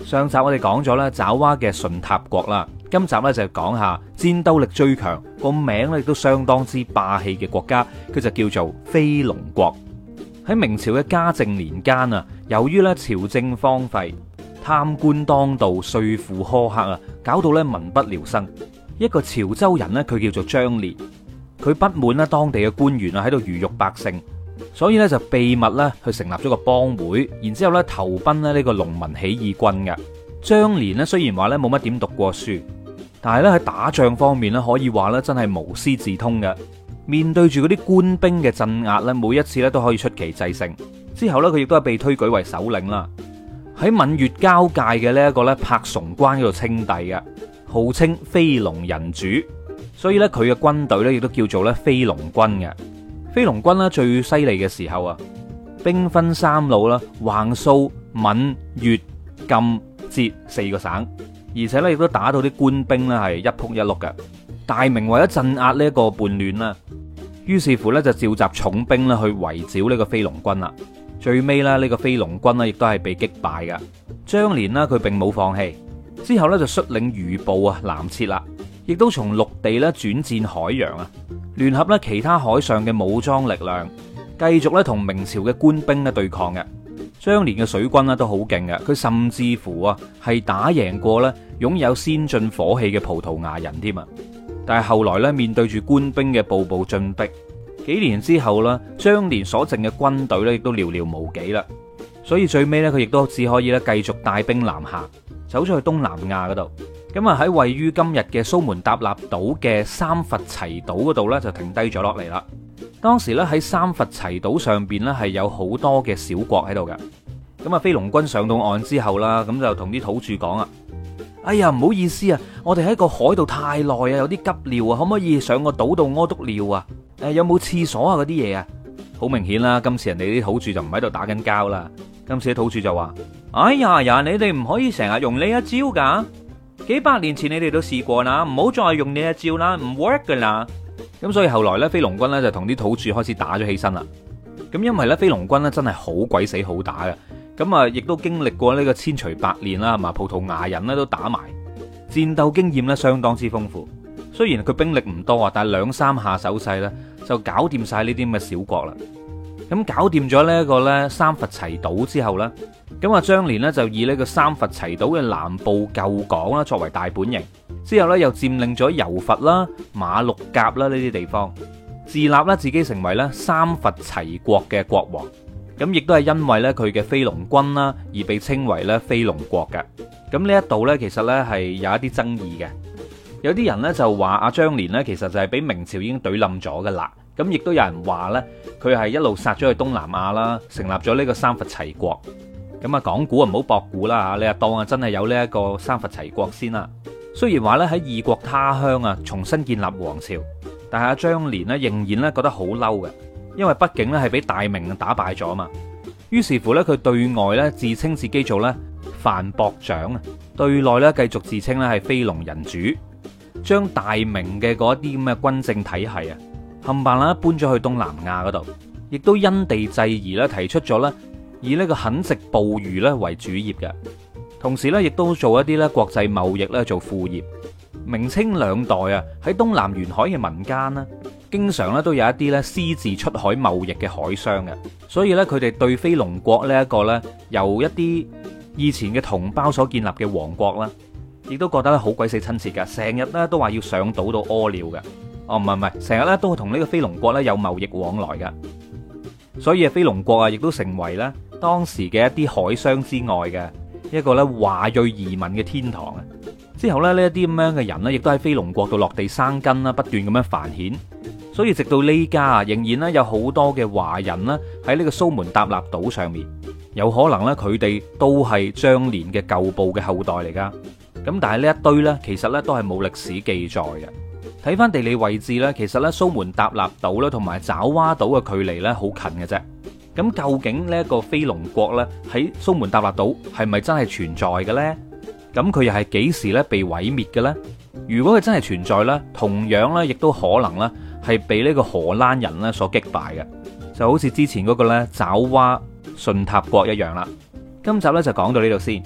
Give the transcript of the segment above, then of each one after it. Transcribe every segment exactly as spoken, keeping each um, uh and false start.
上集我哋講咗咧爪哇嘅順塔國啦，今集咧就講下戰鬥力最強，個名咧亦都相當之霸氣嘅國家，佢就叫做飛龍國。喺明朝嘅嘉靖年間啊，由於咧朝政荒廢、貪官當道、稅負苛刻啊，搞到咧民不聊生。一個潮州人咧，佢叫做張連，佢不滿咧當地嘅官員啊喺度魚肉百姓，所以咧就秘密咧去成立咗個幫會，然之後咧投奔咧呢個農民起義軍嘅。張連咧雖然話咧冇乜點讀過書，但係咧喺打仗方面咧可以話咧真係無師自通嘅。面對住嗰啲官兵嘅鎮壓咧，每一次咧都可以出奇制勝。之後咧佢亦都係被推舉為首領啦。喺閩粵交界嘅呢一個咧柏崇關嗰度稱帝嘅，號稱飛龍人主，所以咧佢嘅軍隊咧亦都叫做咧飛龍軍嘅。飛龍軍咧最犀利嘅時候啊，兵分三路啦，橫掃閩粵贛浙四個省，而且咧亦都打到啲官兵咧係一仆一碌嘅。大明為咗鎮壓呢一個叛亂啦，於是乎咧就召集重兵咧去圍剿呢個飛龍軍啦。最尾咧呢個飛龍軍咧亦都係被擊敗嘅。張連呢佢並冇放棄，之後咧就率領餘部啊南撤啦，亦都從陸地咧轉戰海洋啊，聯合咧其他海上嘅武裝力量，繼續咧同明朝嘅官兵咧對抗嘅。張連嘅水軍咧都好勁嘅，佢甚至乎啊係打贏過咧擁有先進火器嘅葡萄牙人添啊！但係後來咧，面對住官兵嘅步步進逼，幾年之後啦，張連所剩嘅軍隊咧，亦都寥寥無幾啦。所以最尾咧，佢亦都只可以咧繼續帶兵南下，走咗去東南亞嗰度。咁啊喺位於今日嘅蘇門答臘島嘅三佛齊島嗰度咧，就停低咗落嚟啦。當時咧喺三佛齊島上邊咧係有好多嘅小國喺度嘅。咁啊，飛龍軍上到岸之後啦，咁就同啲土著講啊。哎呀，唔好意思啊，我哋喺個海度太耐啊，有啲急尿啊，可唔可以上個島度屙督尿啊？誒，有冇廁所啊？嗰啲嘢啊，好明顯啦，今次人哋啲土著就唔喺度打緊交啦。今次啲土著就話：哎呀呀，你哋唔可以成日用呢一招噶，幾百年前你哋都試過啦，唔好再用呢一招啦，唔 work 噶啦。咁所以後來咧，飛龍軍咧就同啲土著開始打咗起身啦。咁因為咧，飛龍軍咧真係好鬼死好打嘅。咁啊，亦都經歷過呢個千錘百煉啦，係嘛？葡萄牙人咧都打埋，戰鬥經驗咧相當之豐富。雖然佢兵力唔多啊，但係兩三下手勢咧就搞掂晒呢啲咁嘅小國啦。咁搞掂咗呢一個咧三佛齊島之後咧，咁啊張連呢就以呢個三佛齊島嘅南部舊港啦作為大本營，之後咧又佔領咗柔佛啦、馬六甲啦呢啲地方，自立啦自己成為咧三佛齊國嘅國王。咁亦都係因為咧佢嘅飛龍軍啦，而被稱為咧飛龍國嘅。咁呢一度咧，其實咧係有一啲爭議嘅。有啲人咧就話阿張連咧，其實就係俾明朝已經懟冧咗噶啦。咁亦都有人話咧，佢係一路殺咗去東南亞啦，成立咗呢個三佛齊國。咁啊，講古啊唔好博古啦吓，你啊當啊真係有呢一個三佛齊國先啦。雖然話咧喺異國他鄉啊，重新建立王朝，但係阿張連咧仍然咧覺得好嬲嘅。因為畢竟咧係俾大明打敗咗嘛，於是乎咧佢對外咧自稱自己做咧藩博長啊，對內咧繼續自稱咧係飛龍人主，將大明嘅嗰啲咁嘅軍政體系啊，冚唪唥啦搬咗去東南亞嗰度，亦都因地制宜咧提出咗咧以呢個墾殖捕魚咧為主業嘅，同時咧亦都做一啲咧國際貿易咧做副業。明清兩代啊喺東南沿海嘅民間啦，經常咧都有一啲咧私自出海貿易嘅海商嘅，所以咧佢哋對飛龍國呢一個咧由一啲以前嘅同胞所建立嘅王國啦，亦都覺得咧好鬼死親切噶，成日咧都話要上島度屙尿嘅。哦，唔係唔係，成日咧都同呢個飛龍國咧有貿易往來噶，所以啊飛龍國啊亦都成為咧當時嘅一啲海商之外嘅一個咧華裔移民嘅天堂啊！之後咧呢一啲咁樣嘅人呢，亦都喺飛龍國度落地生根啦，不斷咁樣繁衍。所以直到呢家啊，仍然咧有好多嘅華人啦喺呢個蘇門答臘島上面，有可能咧佢哋都係張連嘅舊部嘅後代嚟噶。咁但係呢一堆呢，其實呢都係冇歷史記載嘅。睇翻地理位置呢，其實呢蘇門答臘島咧同埋爪哇島嘅距離呢好近嘅啫。咁究竟呢一個飛龍國呢，喺蘇門答臘島係咪真係存在嘅呢？咁佢又係幾時咧被毀滅嘅咧？如果佢真係存在咧，同樣咧亦都可能咧係被呢個荷蘭人咧所擊敗嘅，就好似之前嗰個咧爪哇順塔國一樣啦。今集咧就講到呢度先。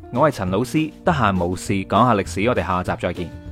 我係陳老師，得閒無事講下歷史，我哋下集再見。